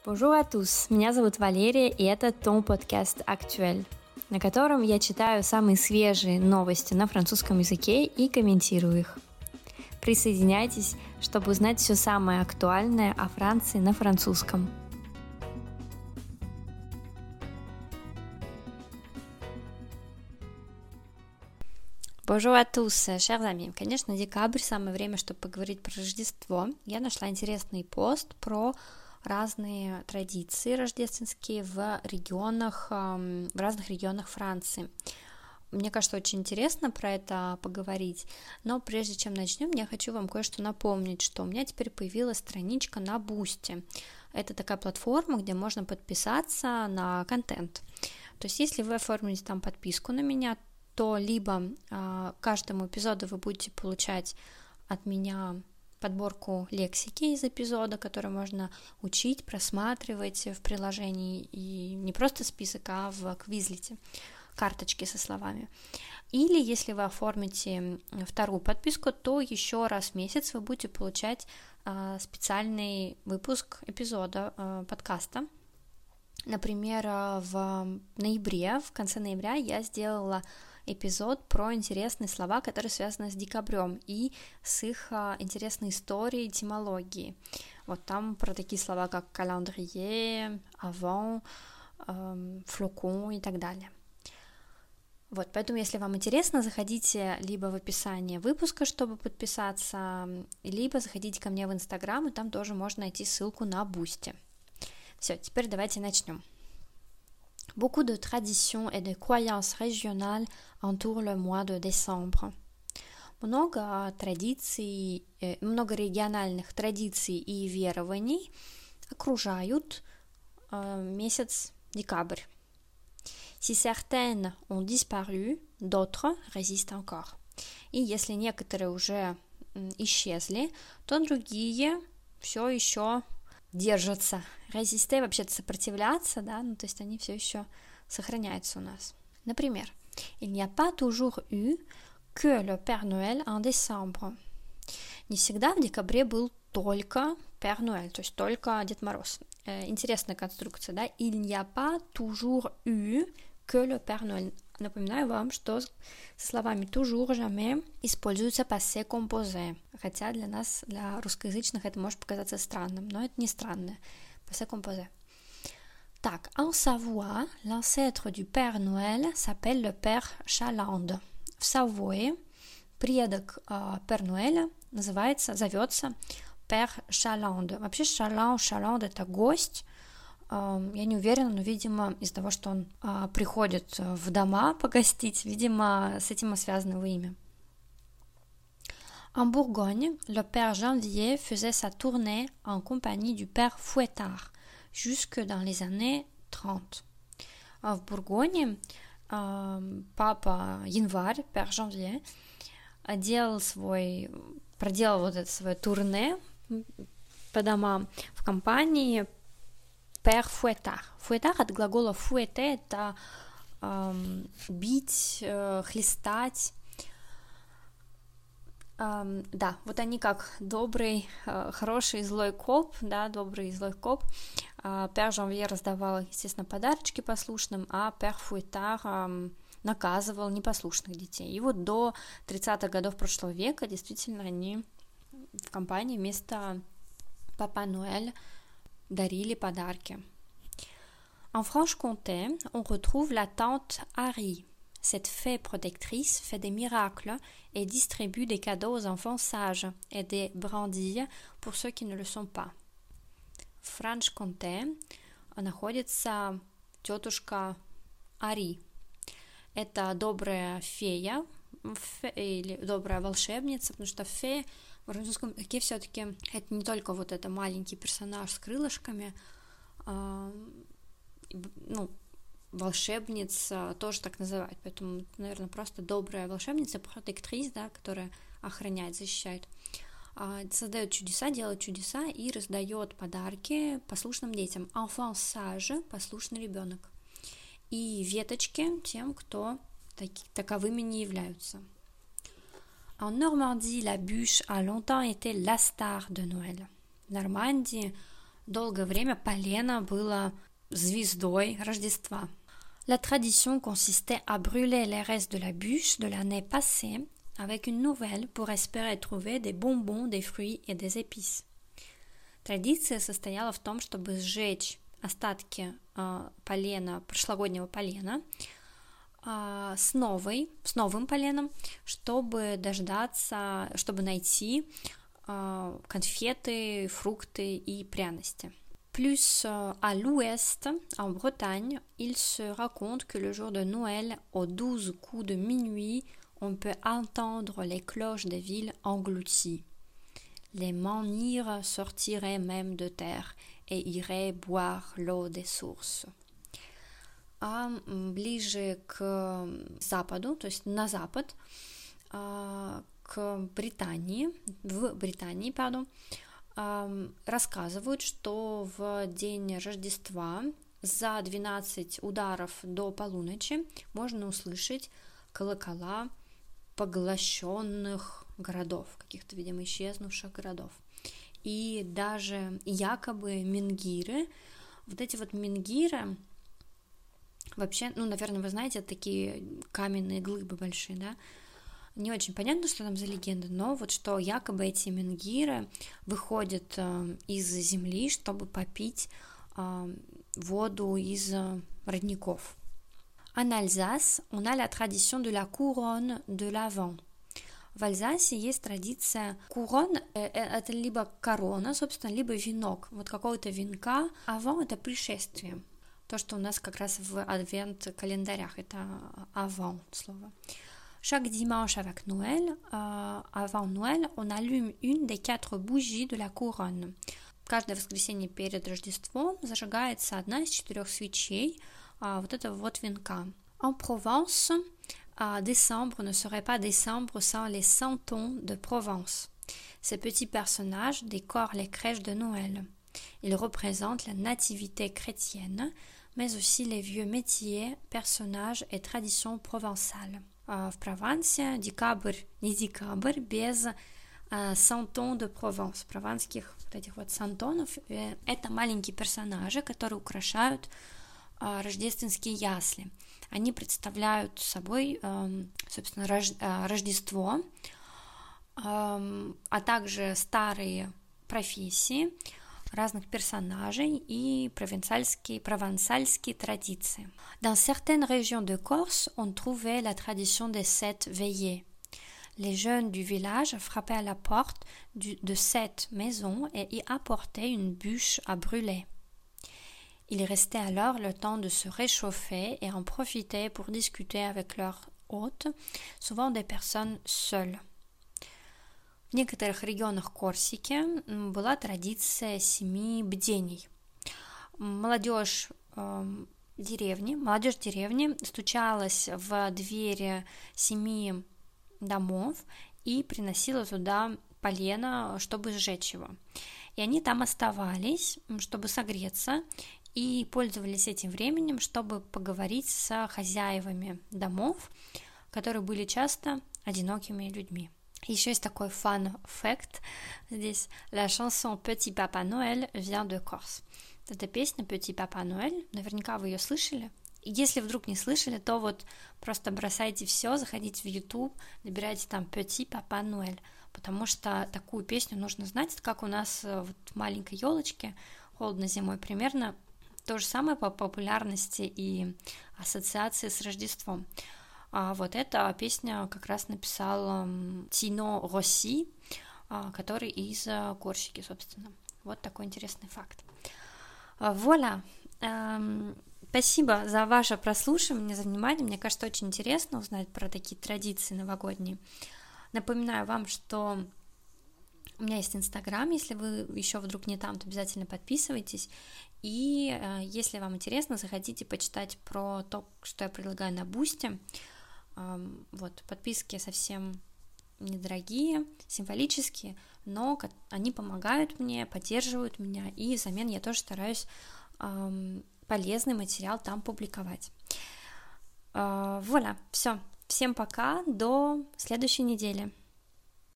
Bonjour à tous, меня зовут Валерия, и это Ton подкаст Actuel, на котором я читаю самые свежие новости на французском языке и комментирую их. Присоединяйтесь, чтобы узнать все самое актуальное о Франции на французском. Bonjour à tous, chers amis. Конечно, декабрь, самое время, чтобы поговорить про Рождество. Я нашла интересный пост про разные традиции рождественские в разных регионах Франции. Мне кажется, очень интересно про это поговорить, но прежде чем начнем, я хочу вам кое-что напомнить, что у меня теперь появилась страничка на Boosty. Это такая платформа, где можно подписаться на контент. То есть, если вы оформите там подписку на меня, то либо каждому эпизоду вы будете получать от меня подборку лексики из эпизода, которую можно учить, просматривать в приложении, и не просто список, а в Quizlet, карточки со словами. Или если вы оформите вторую подписку, то еще раз в месяц вы будете получать специальный выпуск эпизода подкаста. Например, в конце ноября я сделала эпизод про интересные слова, которые связаны с декабрем и с их интересной историей, этимологией. Вот там про такие слова, как calendrier, avant, flocon и так далее. Вот, поэтому, если вам интересно, заходите либо в описание выпуска, чтобы подписаться, либо заходите ко мне в Инстаграм, и там тоже можно найти ссылку на Boosty. Все, теперь давайте начнем. Beaucoup de traditions et de croyances régionales entourent le mois de décembre. Много региональных традиций и верований окружают месяц декабрь. Si certaines ont disparu, d'autres résistent encore. И если некоторые уже исчезли, то другие все еще держатся. Резисте вообще-то сопротивляться, да, то есть они все еще сохраняются у нас. Например, il n'y a pas toujours eu que le Père Noël en décembre. Не всегда в декабре был только Père Noël, то есть только Дед Мороз. Интересная конструкция, да? Il n'y a pas toujours eu que le Père Noël. Напоминаю вам, что со словами toujours, jamais используется passé composé. Хотя для русскоязычных, это может показаться странным, но это не странно. Passé composé. Так, en Savoie, l'ancêtre du Père Noël s'appelle le Père Chaland. В Савое предок Père Noël зовется Père Chaland. Вообще Chaland это гость. Я не уверена, но, видимо, из-за того, что он приходит в дома погостить, видимо, с этим и связано его имя. En Bourgogne, le Père Janvier faisait sa tournée en compagnie du Père Fouettard jusque dans les années 30. В Бургоне папа Январь, Père Janvier, проделал вот это свое турне по домам в компании Père Fouettard. Fouettard от глагола fouetter, это бить, хлестать. Да, вот они как добрый, хороший и злой коп, да, добрый и злой коп. Père Janvier раздавал, естественно, подарочки послушным, а Père Fouettard наказывал непослушных детей. И вот до 30-х годов прошлого века действительно они в компании вместо Папа Ноэль дарили подарки. En Franche-Comté, on retrouve la tante Harry. Cette fée protectrice fait des miracles et distribue des cadeaux aux enfants sages et des brindilles pour ceux qui ne le sont pas. В Франш-Конте находится тетушка Ари. Это добрая фея или добрая волшебница, потому что фея в французском языке все-таки это не только вот это маленький персонаж с крылышками, волшебница тоже так называют, поэтому, наверное, просто добрая волшебница, протектрис, да, которая охраняет, защищает, создает чудеса, делает чудеса и раздает подарки послушным детям. Enfant sage, послушный ребенок, и веточки тем, кто таковыми не являются. En Normandie, la bûche a longtemps été la star de Noël. В Нормандии Долгое время полено было звездой Рождества. La tradition consistait à brûler les restes de la bûche de l'année passée avec une nouvelle pour espérer trouver des bonbons, des fruits et des épices. Традиция состояла в том, чтобы сжечь остатки полена, прошлогоднего полена, с новым поленом, чтобы дождаться, чтобы найти конфеты, фрукты и пряности. Plus à l'ouest, en Bretagne, il se raconte que le jour de Noël, aux 12 coups de minuit, on peut entendre les cloches des villes englouties. Les menhirs sortiraient même de terre et iraient boire l'eau des sources. А ближе к западу, то есть на запад, в Британии, рассказывают, что в день Рождества за 12 ударов до полуночи можно услышать колокола поглощенных городов, каких-то, видимо, исчезнувших городов. И даже якобы менгиры, вот эти вот менгиры, вообще, наверное, вы знаете, это такие каменные глыбы большие, да? Не очень понятно, что там за легенда, но вот что якобы эти менгиры выходят из земли, чтобы попить воду из родников. En Alsace, on a la tradition de la couronne de l'Avent. В Альзасе есть традиция couronne, это либо корона, собственно, либо венок, вот какого-то венка. Avant — это пришествие, то, что у нас как раз в адвент-календарях, это avant слово. Chaque dimanche avec Noël, avant Noël, on allume une des 4 bougies de la couronne. Каждое воскресенье перед Рождеством зажигается одна из 4 свечей вот этого вот венка. En Provence, décembre ne serait pas décembre sans les santons de Provence. Ces petits personnages décorent les crèches de Noël. Ils représentent la nativité chrétienne, mais aussi les vieux métiers, personnages et traditions provençales. В Провансе декабрь, не декабрь, без сантон де Прованс, прованских вот этих вот сантонов. Это маленькие персонажи, которые украшают рождественские ясли. Они представляют собой, собственно, Рождество, а также старые профессии разных персонажей и провансальские традиции. Dans certaines régions de Corse, on trouvait la tradition des 7 veillées. Les jeunes du village frappaient à la porte de 7 maisons et y apportaient une bûche à brûler. Ils restaient alors le temps de se réchauffer et en profitaient pour discuter avec leurs hôtes, souvent des personnes seules. В некоторых регионах Корсики была традиция 7 бдений. Молодежь деревни стучалась в двери 7 домов и приносила туда полено, чтобы сжечь его. И они там оставались, чтобы согреться, и пользовались этим временем, чтобы поговорить с хозяевами домов, которые были часто одинокими людьми. Еще есть такой fun fact здесь. La chanson Petit Papa Noël vient de Corse. Это песня Petit Papa Noël, наверняка вы ее слышали. И если вдруг не слышали, то вот просто бросайте все, заходите в YouTube, набирайте там Petit Papa Noël, потому что такую песню нужно знать. Это как у нас вот в маленькой елочке, холодно зимой, примерно то же самое по популярности и ассоциации с Рождеством. А вот эта песня как раз написал Тино Росси, который из Корсики, собственно. Вот такой интересный факт. Voilà. Спасибо за ваше прослушивание, за внимание. Мне кажется, очень интересно узнать про такие традиции новогодние. Напоминаю вам, что у меня есть Инстаграм. Если вы еще вдруг не там, то обязательно подписывайтесь. И если вам интересно, заходите почитать про то, что я предлагаю на Бусти. Вот, подписки совсем недорогие, символические, но они помогают мне, поддерживают меня, и взамен я тоже стараюсь полезный материал там публиковать. Voilà, все. Всем пока, до следующей недели.